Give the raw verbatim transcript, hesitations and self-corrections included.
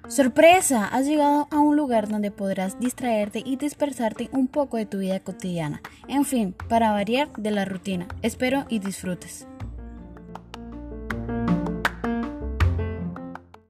¡Sorpresa! Has llegado a un lugar donde podrás distraerte y dispersarte un poco de tu vida cotidiana. En fin, para variar de la rutina. Espero y disfrutes.